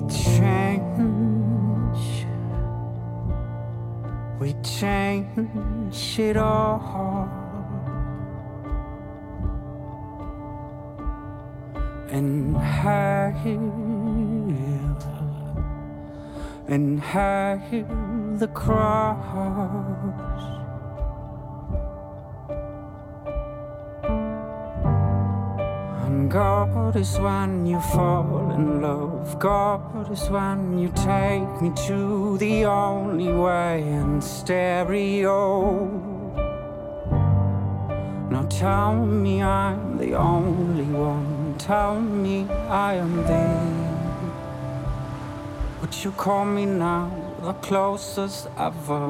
change it all. And hail the cross. And God is when you fall in love. God is when you take me to the only way in stereo. Now tell me I'm the only one. Tell me I am thee. Would you call me now the closest ever?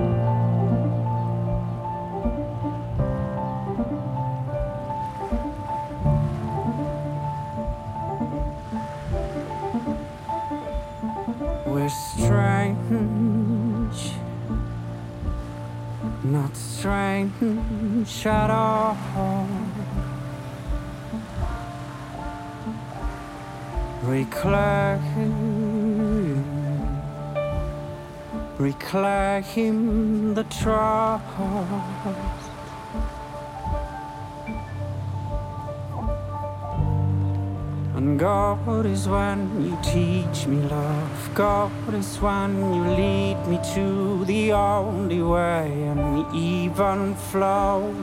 We're strange, not strange at all. Reclaim the trust. And God is when you teach me love. God is when you lead me to the only way and even flow.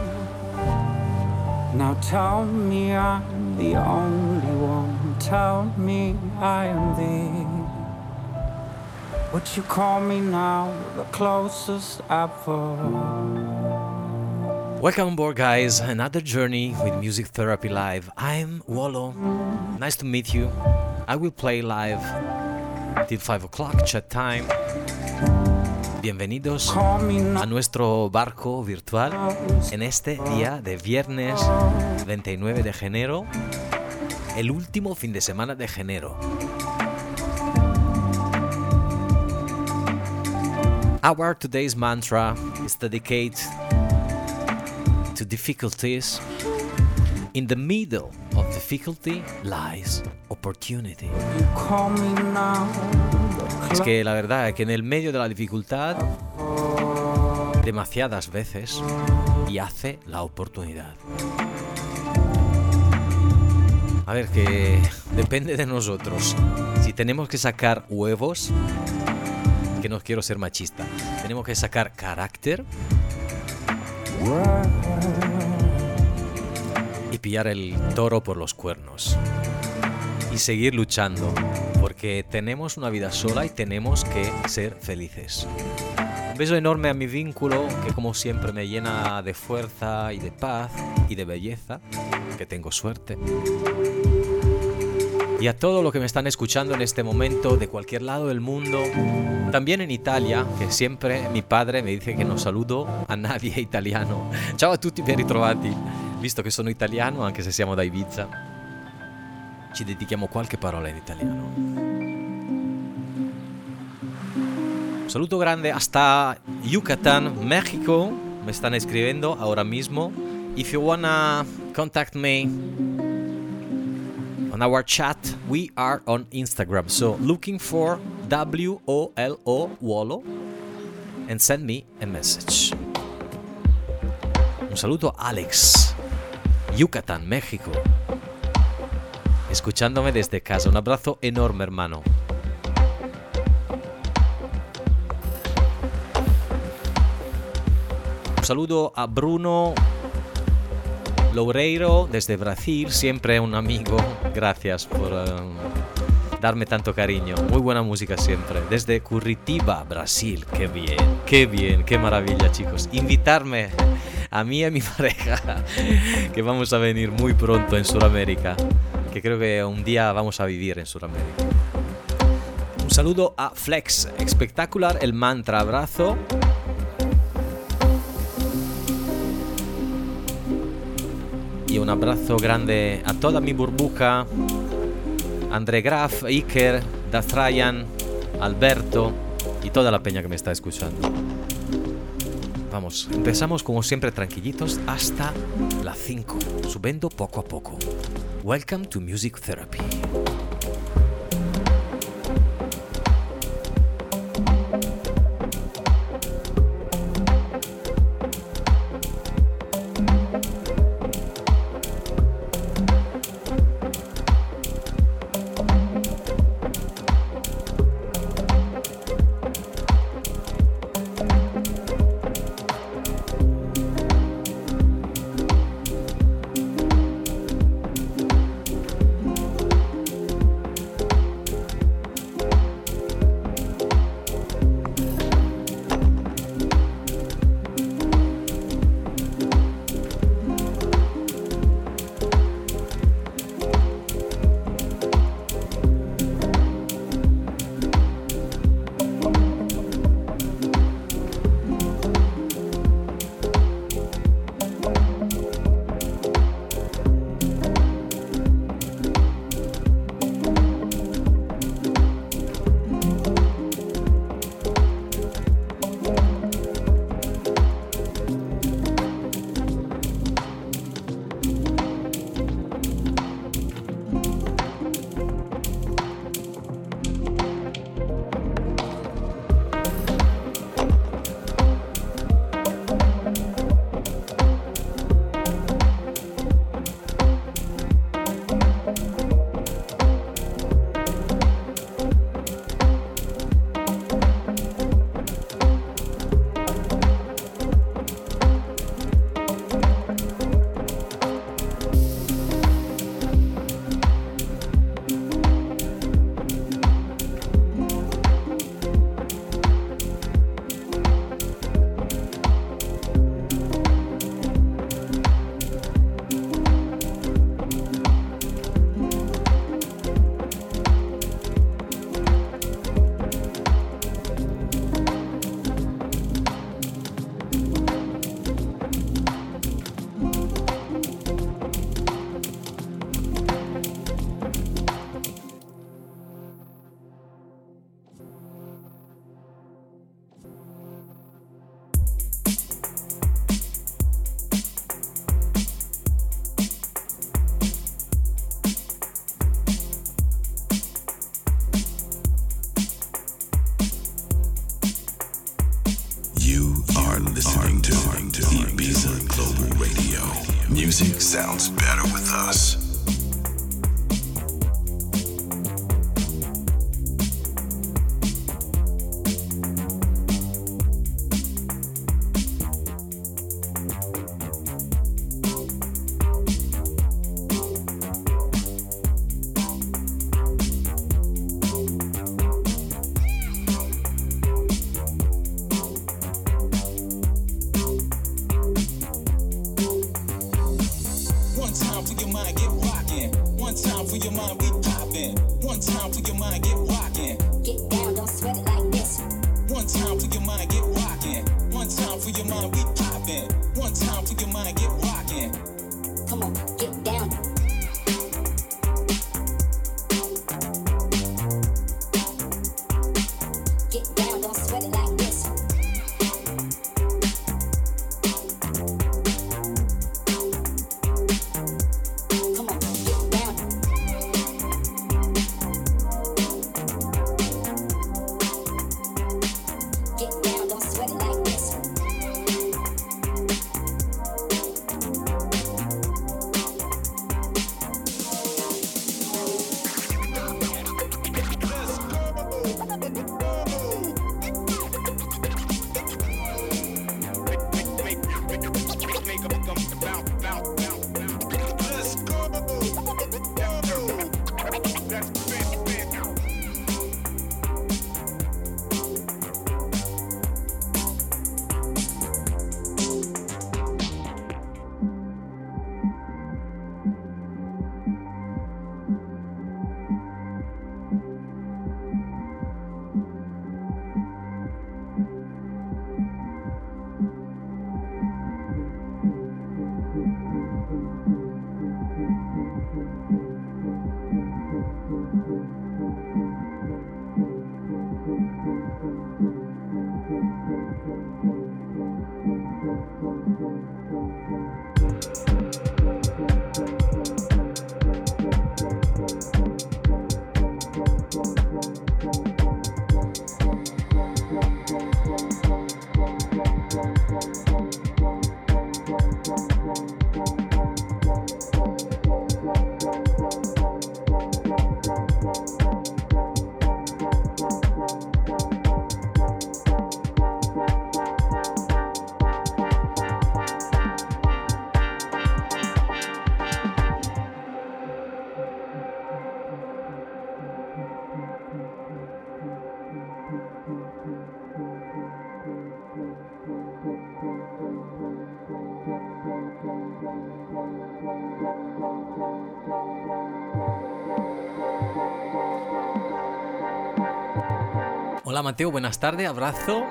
Now tell me I'm the only one. Tell me I am thee. Would you call me now the closest ever? Welcome on board, guys. Another journey with Music Therapy Live. I'm Wolo. Nice to meet you. I will play live till 5 o'clock, chat time. Bienvenidos a nuestro barco virtual en este día de viernes 29 de enero, el último fin de semana de enero. Our today's mantra is dedicated to difficulties. In the middle of difficulty lies opportunity. Es que la verdad es que en el medio de la dificultad, demasiadas veces, yace la oportunidad. A ver, que depende de nosotros. Si tenemos que sacar huevos, que no quiero ser machista, tenemos que sacar carácter y pillar el toro por los cuernos y seguir luchando, porque tenemos una vida sola y tenemos que ser felices. Un beso enorme a mi vínculo, que como siempre me llena de fuerza y de paz y de belleza, que tengo suerte. Y a todos los que me están escuchando en este momento, de cualquier lado del mundo, también en Italia, che sempre mi padre mi dice che non saluto a nadie italiano. Ciao a tutti, ben ritrovati. Visto che sono italiano, anche se siamo da Ibiza, ci dedichiamo qualche parola in italiano. Un saluto grande hasta Yucatán, México. Me están escribiendo ahora mismo. If you wanna contact me on our chat, we are on Instagram, so looking for WOLO and send me a message. Un saludo a Alex, Yucatán, México, escuchándome desde casa. Un abrazo enorme, hermano. Un saludo a Bruno Loureiro desde Brasil, siempre un amigo. Gracias por darme tanto cariño. Muy buena música siempre. Desde Curitiba, Brasil. Qué bien, qué maravilla, chicos. Invitarme a mí y a mi pareja, que vamos a venir muy pronto en Sudamérica, que creo que un día vamos a vivir en Sudamérica. Un saludo a Flex. Espectacular el mantra. Abrazo. Y un abrazo grande a toda mi burbuja, André Graf, Iker, Dastrayan, Alberto y toda la peña que me está escuchando. Vamos, empezamos como siempre tranquilitos hasta las 5, subiendo poco a poco. Welcome to Music Therapy. music sounds better with us. Hola Mateo, buenas tardes, abrazo.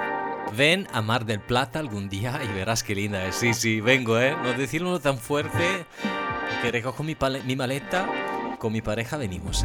Ven a Mar del Plata algún día y verás qué linda es. Sí, sí, vengo, no decirlo tan fuerte, que recojo mi maleta, con mi pareja venimos,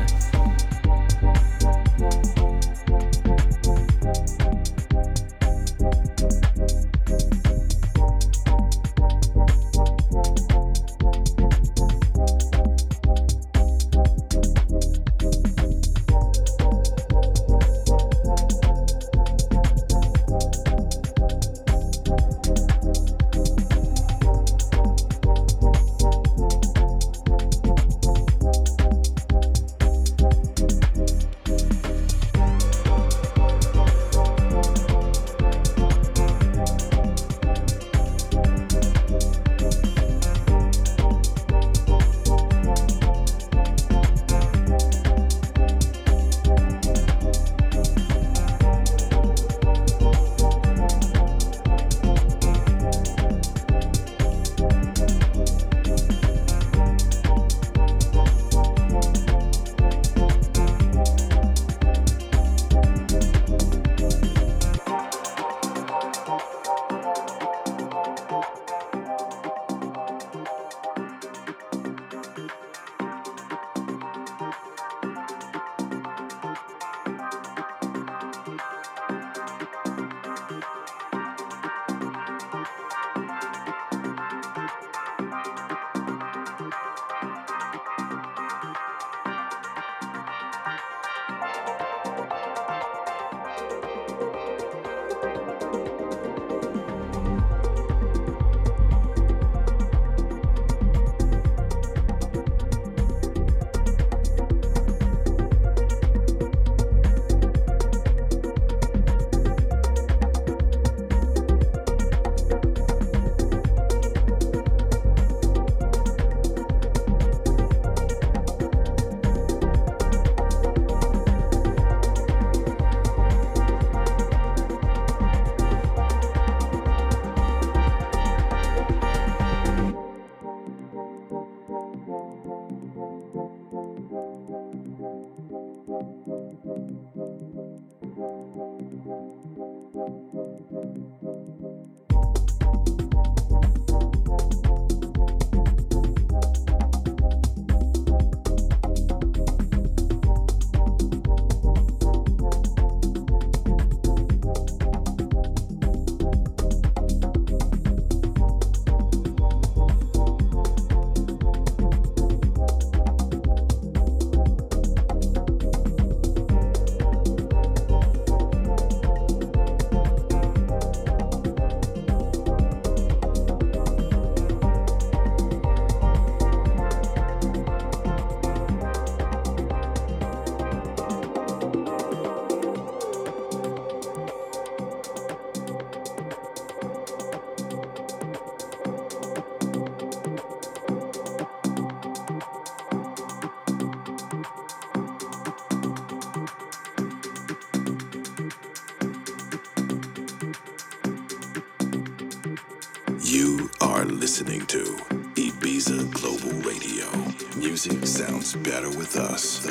You are listening to Ibiza Global Radio. Music sounds better with us.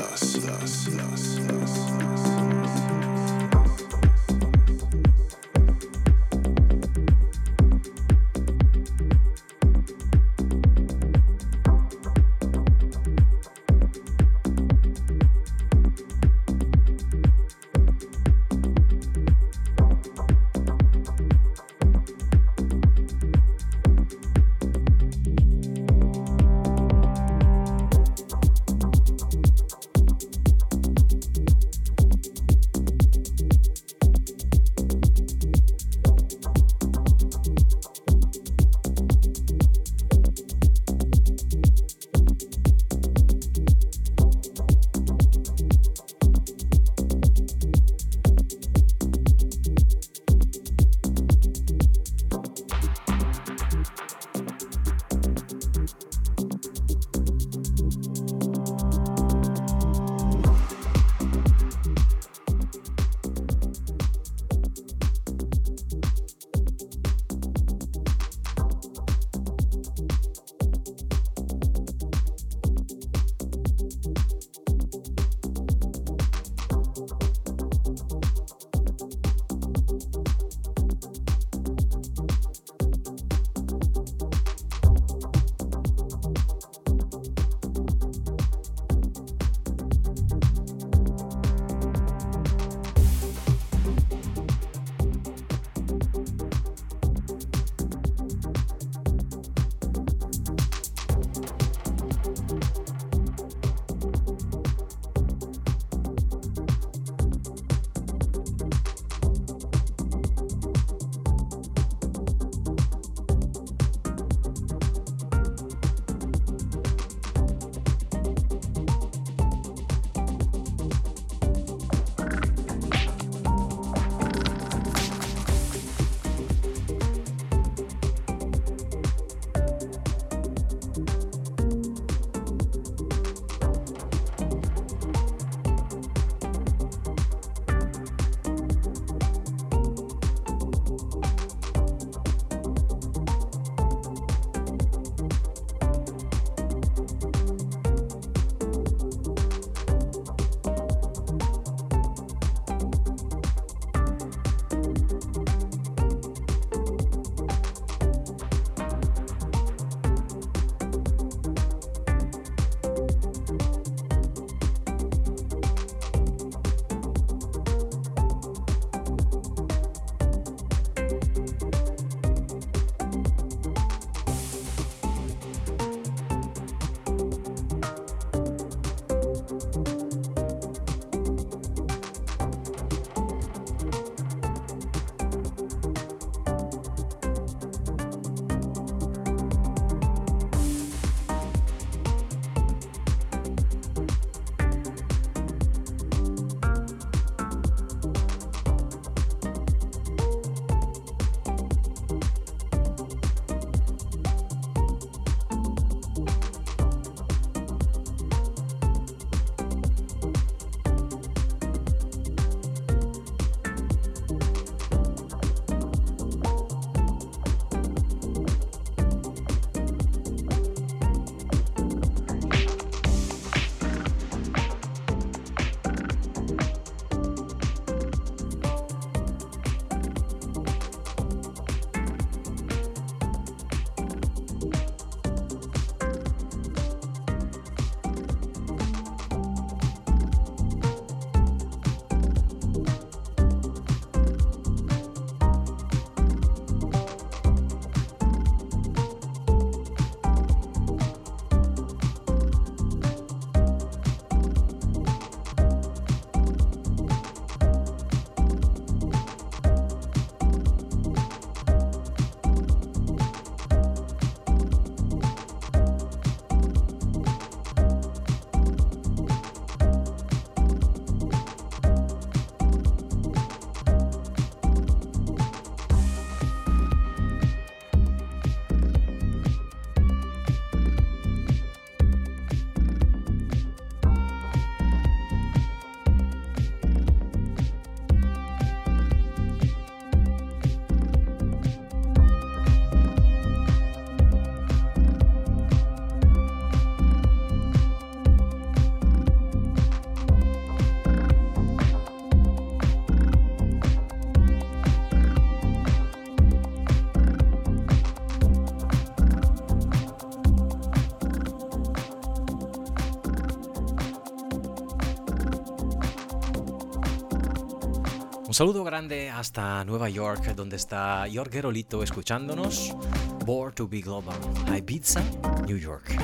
Un saludo grande hasta Nueva York, donde está Jorge Rolito escuchándonos. Born to be Global, Ibiza, New York.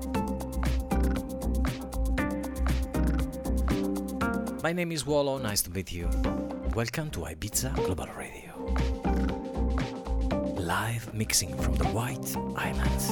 My name is Wallo, nice to meet you. Welcome to Ibiza Global Radio. Live mixing from the White Islands.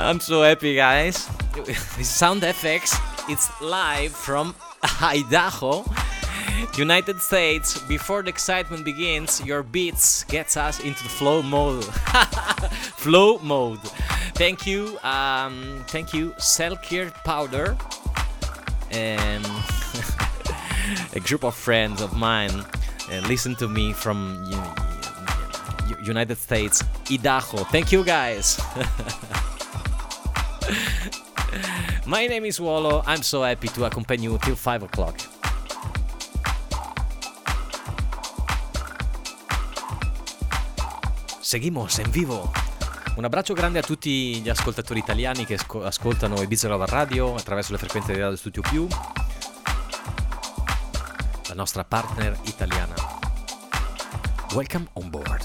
I'm so happy, guys. Sound FX, it's live from Idaho, United States. Before the excitement begins, your beats gets us into the flow mode. Flow mode. Thank you, Selkirk Powder, and a group of friends of mine listen to me from United States, Idaho. Thank you, guys. My name is Wolo. I'm so happy to accompany you till 5 o'clock. Seguimos en vivo. Un abbraccio grande a tutti gli ascoltatori italiani che ascoltano Ibiza Global Radio attraverso le frequenze di Radio Studio Più, la nostra partner italiana. Welcome on board.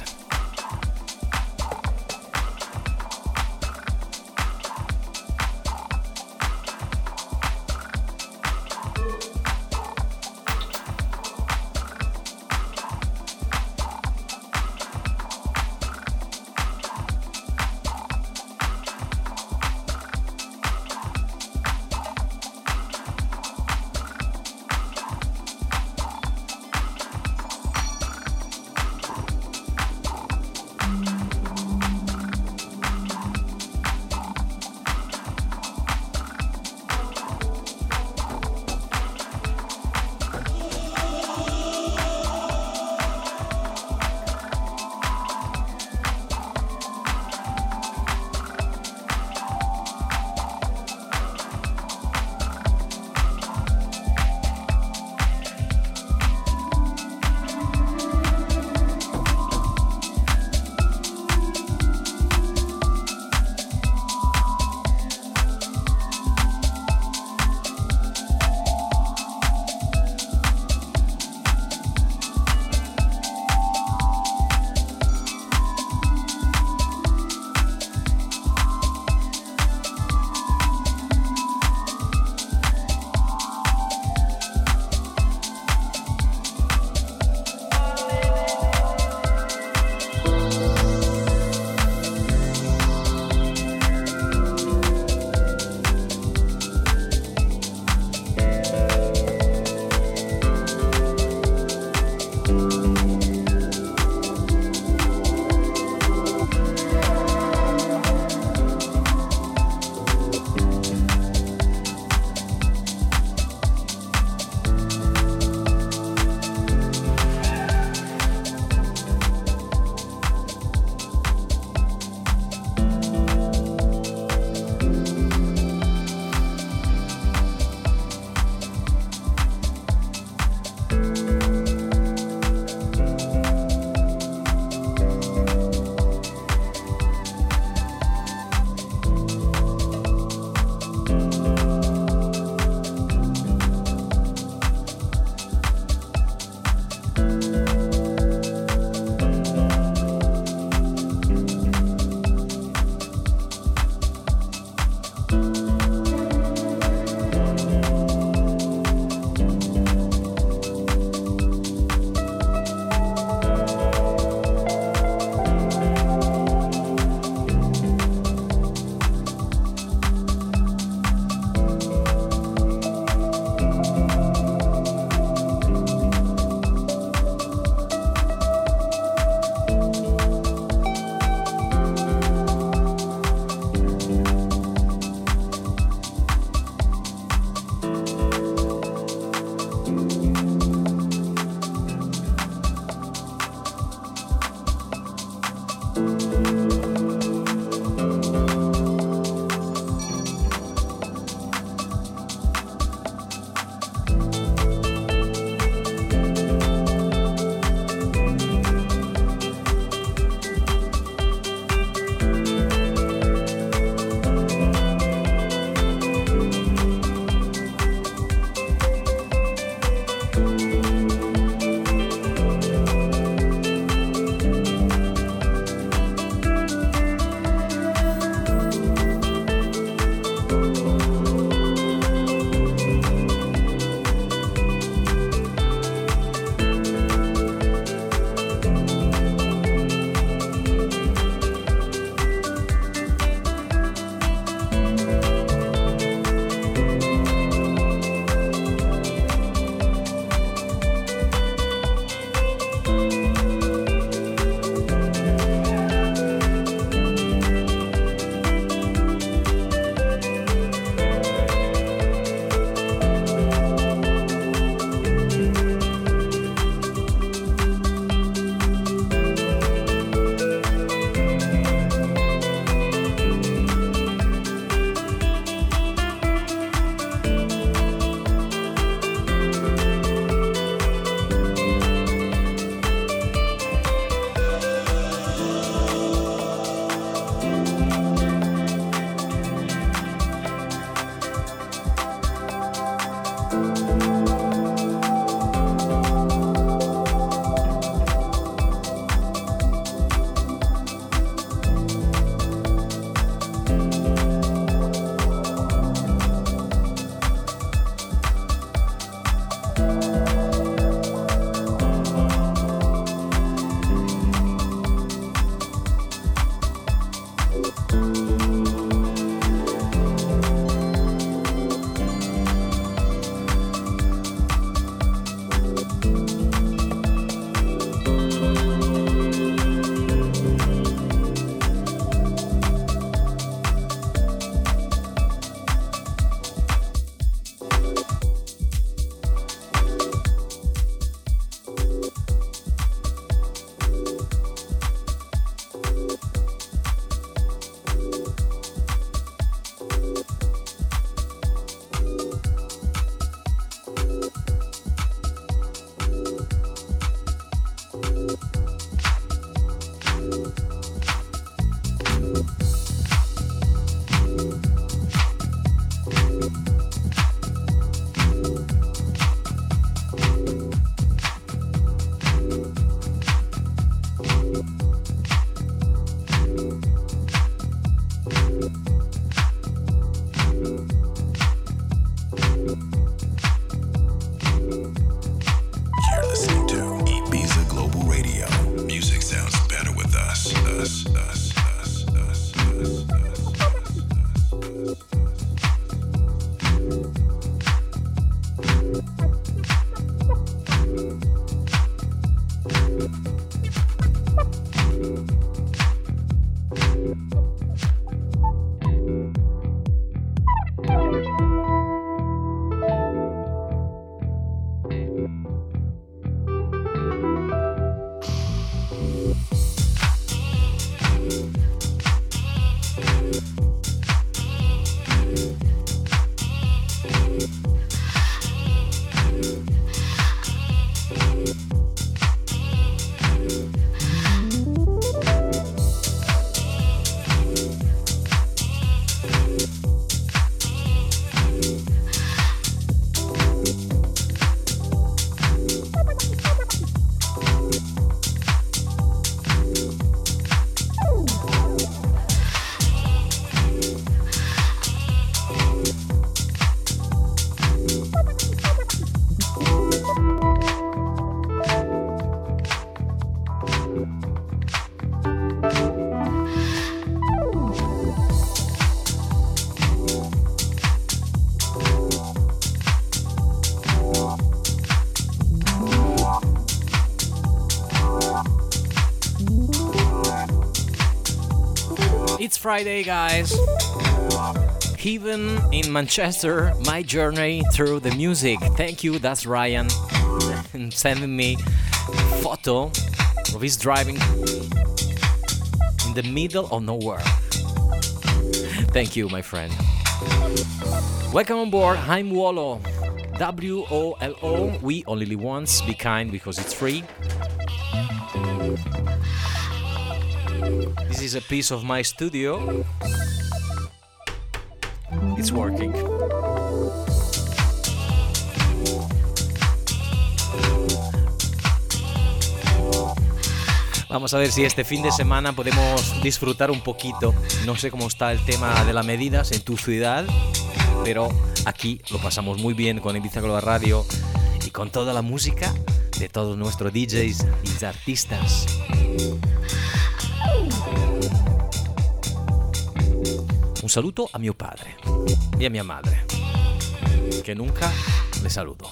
It's Friday, guys. Even in Manchester, my journey through the music. Thank you, that's Ryan, sending me photo of his driving in the middle of nowhere. Thank you, my friend. Welcome on board. I'm Wolo. WOLO. We only live once. Be kind because it's free. This is a piece of my studio. It's working. Vamos a ver si este fin de semana podemos disfrutar un poquito. No sé cómo está el tema de las medidas en tu ciudad, pero aquí lo pasamos muy bien con Ibiza Global Radio y con toda la música de todos nuestros DJs y artistas. Un saluto a mio padre y a mia madre, que nunca le saludo.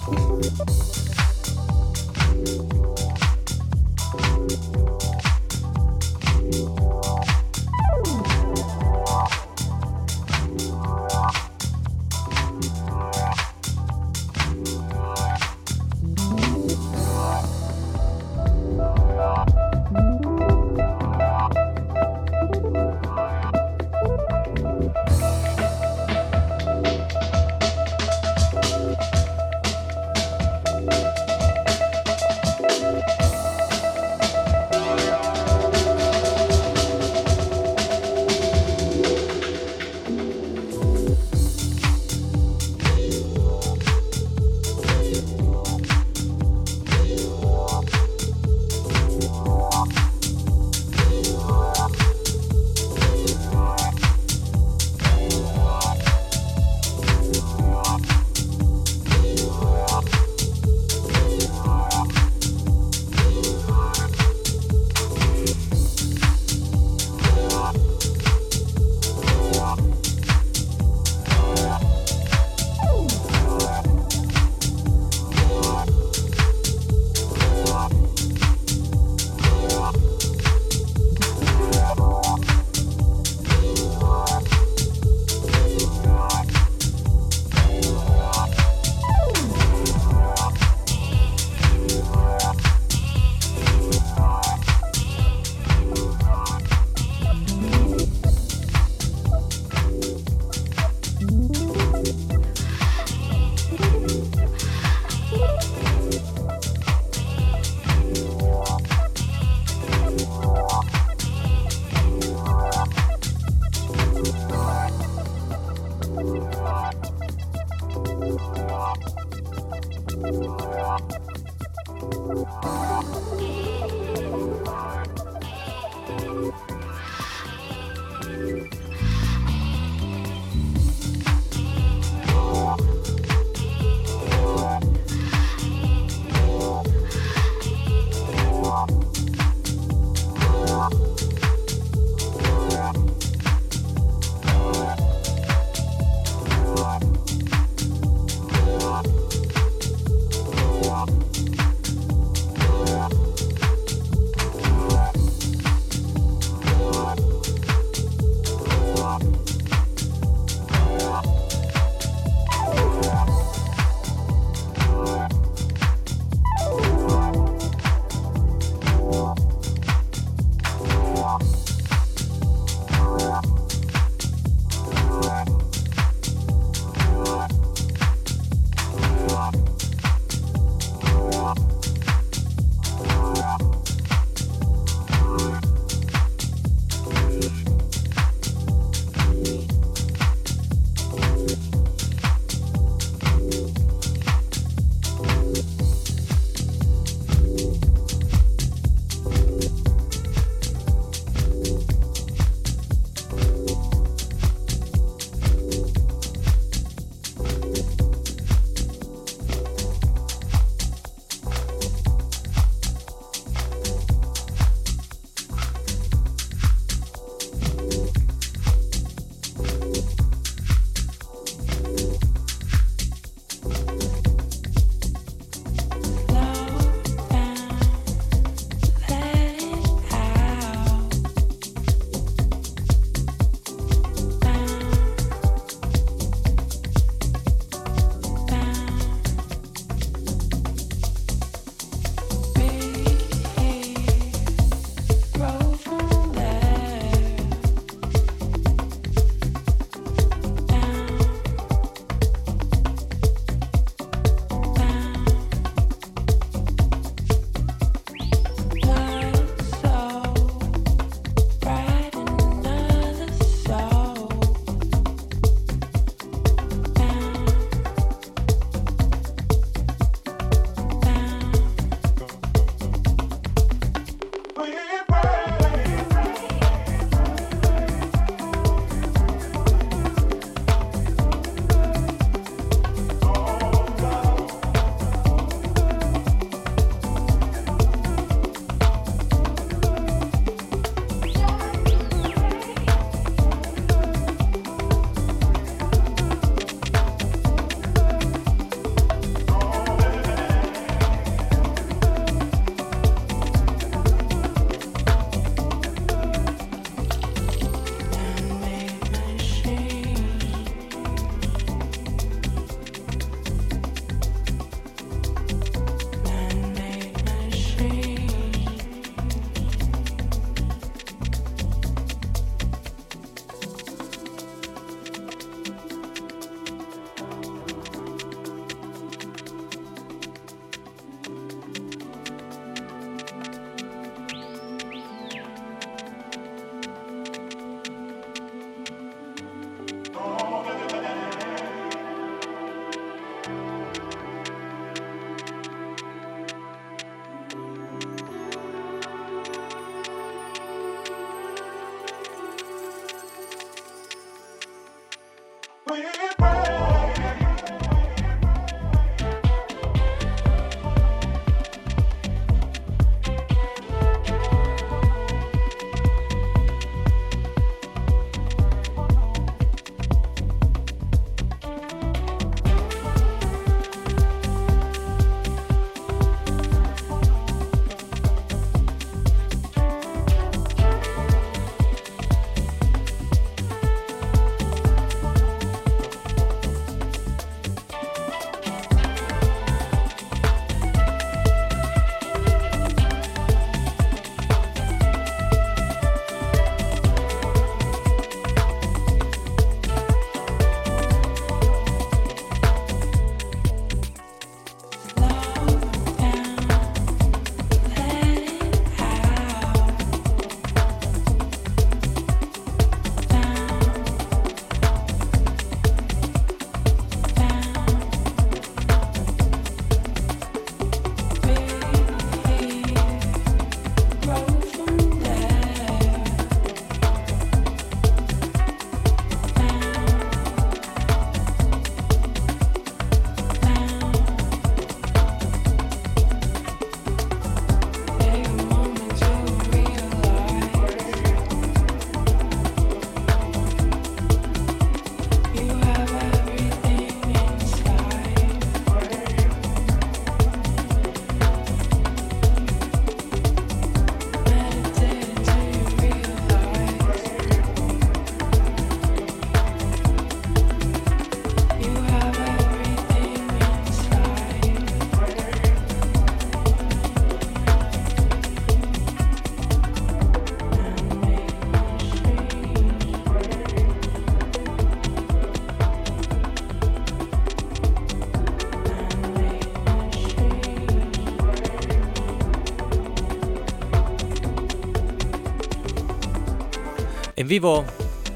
En vivo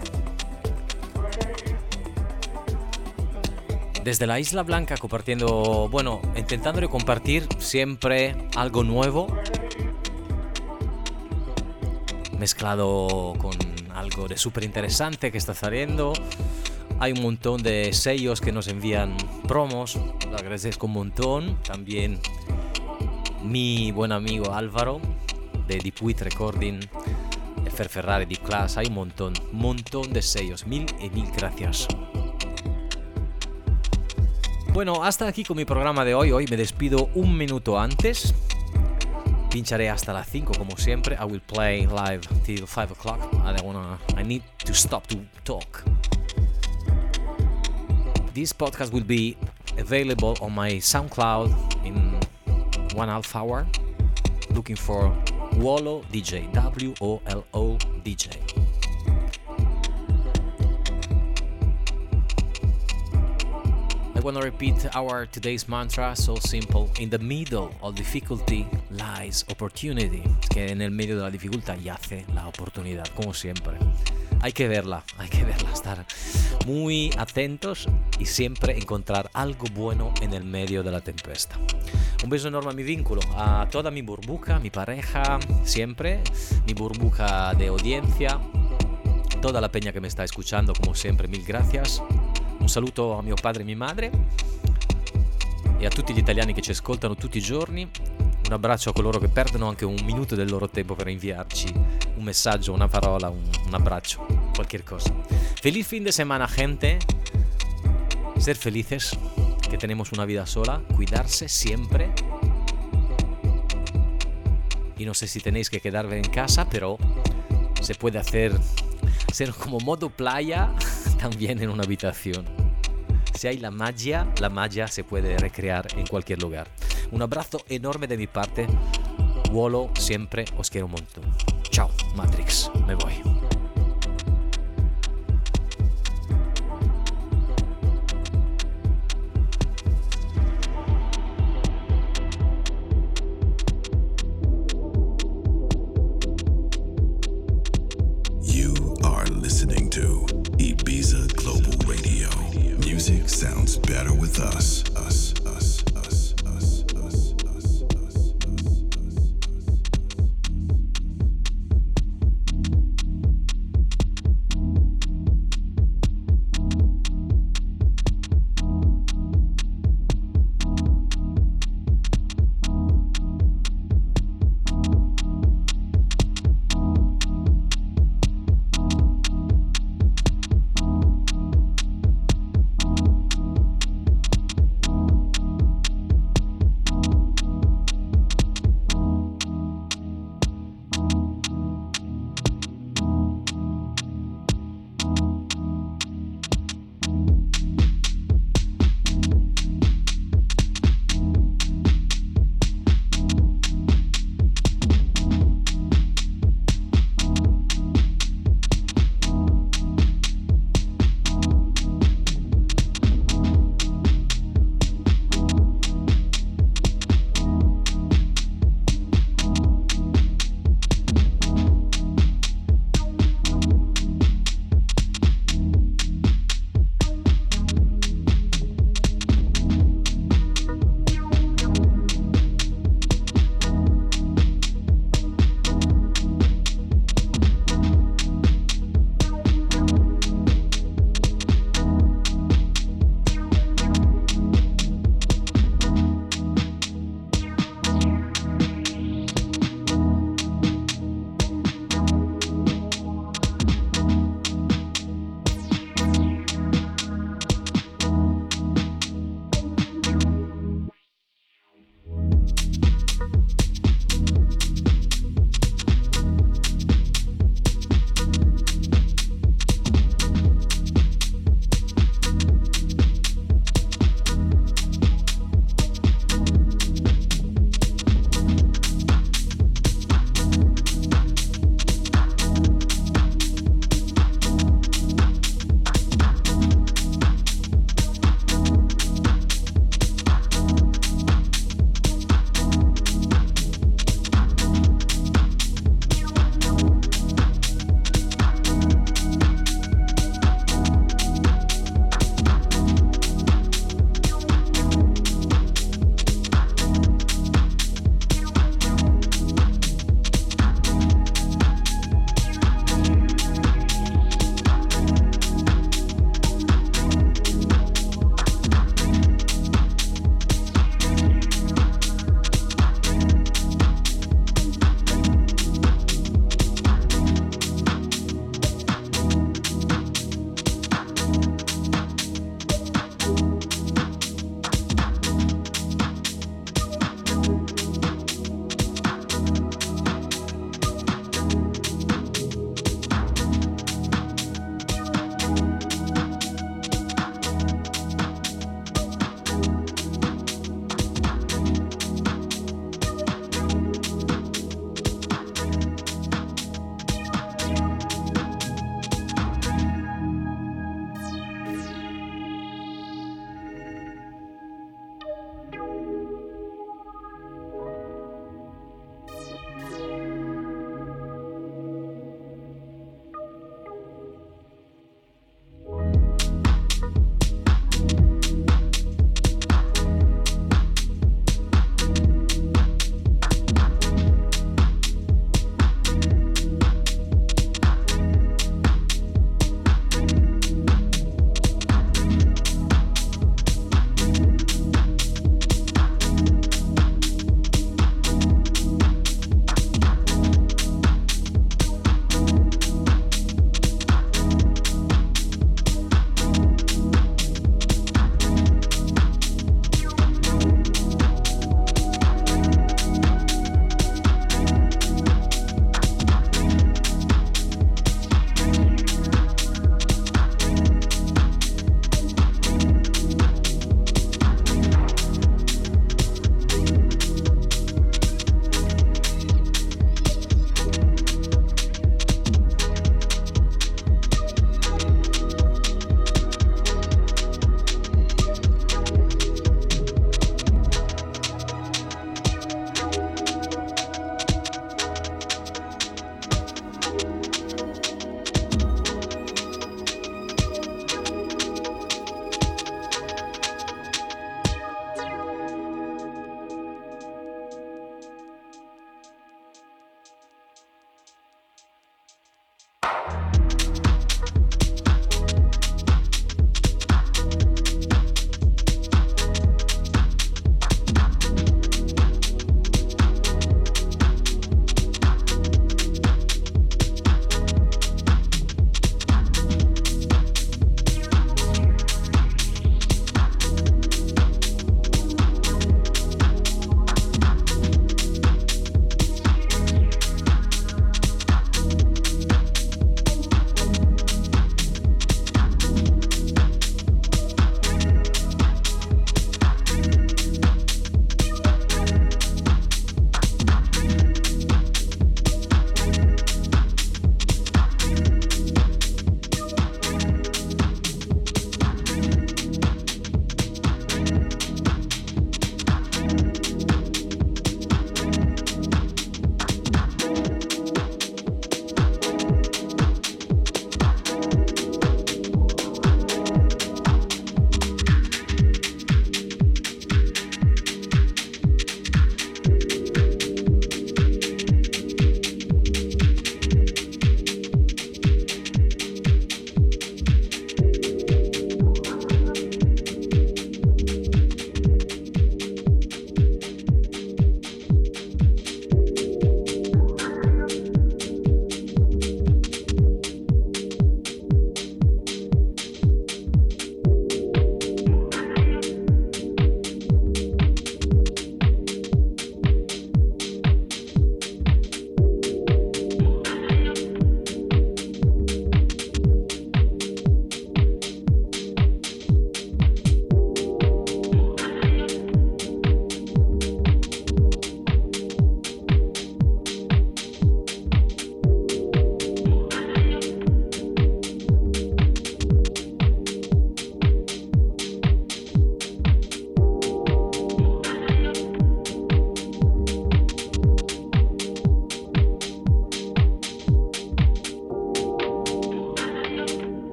desde la Isla Blanca, compartiendo, intentando de compartir siempre algo nuevo, mezclado con algo de súper interesante que está saliendo. Hay un montón de sellos que nos envían promos, lo agradezco un montón. También mi buen amigo Álvaro de Deep Wheat Recording, Fer Ferrari, Deep Class, hay un montón de sellos. Mil gracias. Bueno, hasta aquí con mi programa de hoy. Hoy me despido un minuto antes. Pincharé hasta las 5 como siempre. I will play live till 5 o'clock. I need to stop to talk. This podcast will be available on my SoundCloud in 1.5 hour. Looking for Wolo DJ, W-O-L-O DJ. I want to repeat our today's mantra, so simple. In the middle of difficulty lies opportunity. Es que en el medio de la dificultad yace la oportunidad, como siempre. Hay que verla, estar muy atentos y siempre encontrar algo bueno en el medio de la tempesta. Un beso enorme a mi vínculo, a toda mi burbuja, mi pareja, siempre, mi burbuja de audiencia, toda la peña que me está escuchando, como siempre, mil gracias. Un saluto a mio padre e mia madre e a tutti gli italiani che ci ascoltano tutti i giorni. Un abbraccio a coloro che perdono anche un minuto del loro tempo per inviarci un messaggio, una parola, un abbraccio, cualquier cosa. Feliz fin de semana, gente. Ser felices, que tenemos una vida sola. Cuidarse siempre. Y no sé si tenéis que quedaros en casa, pero se puede ser como modo playa también en una habitación. Si hay la magia se puede recrear en cualquier lugar. Un abrazo enorme de mi parte. Wolo, siempre os quiero un montón. Chao, Matrix, me voy. You are listening to Ibiza Global Radio. Music sounds better with us.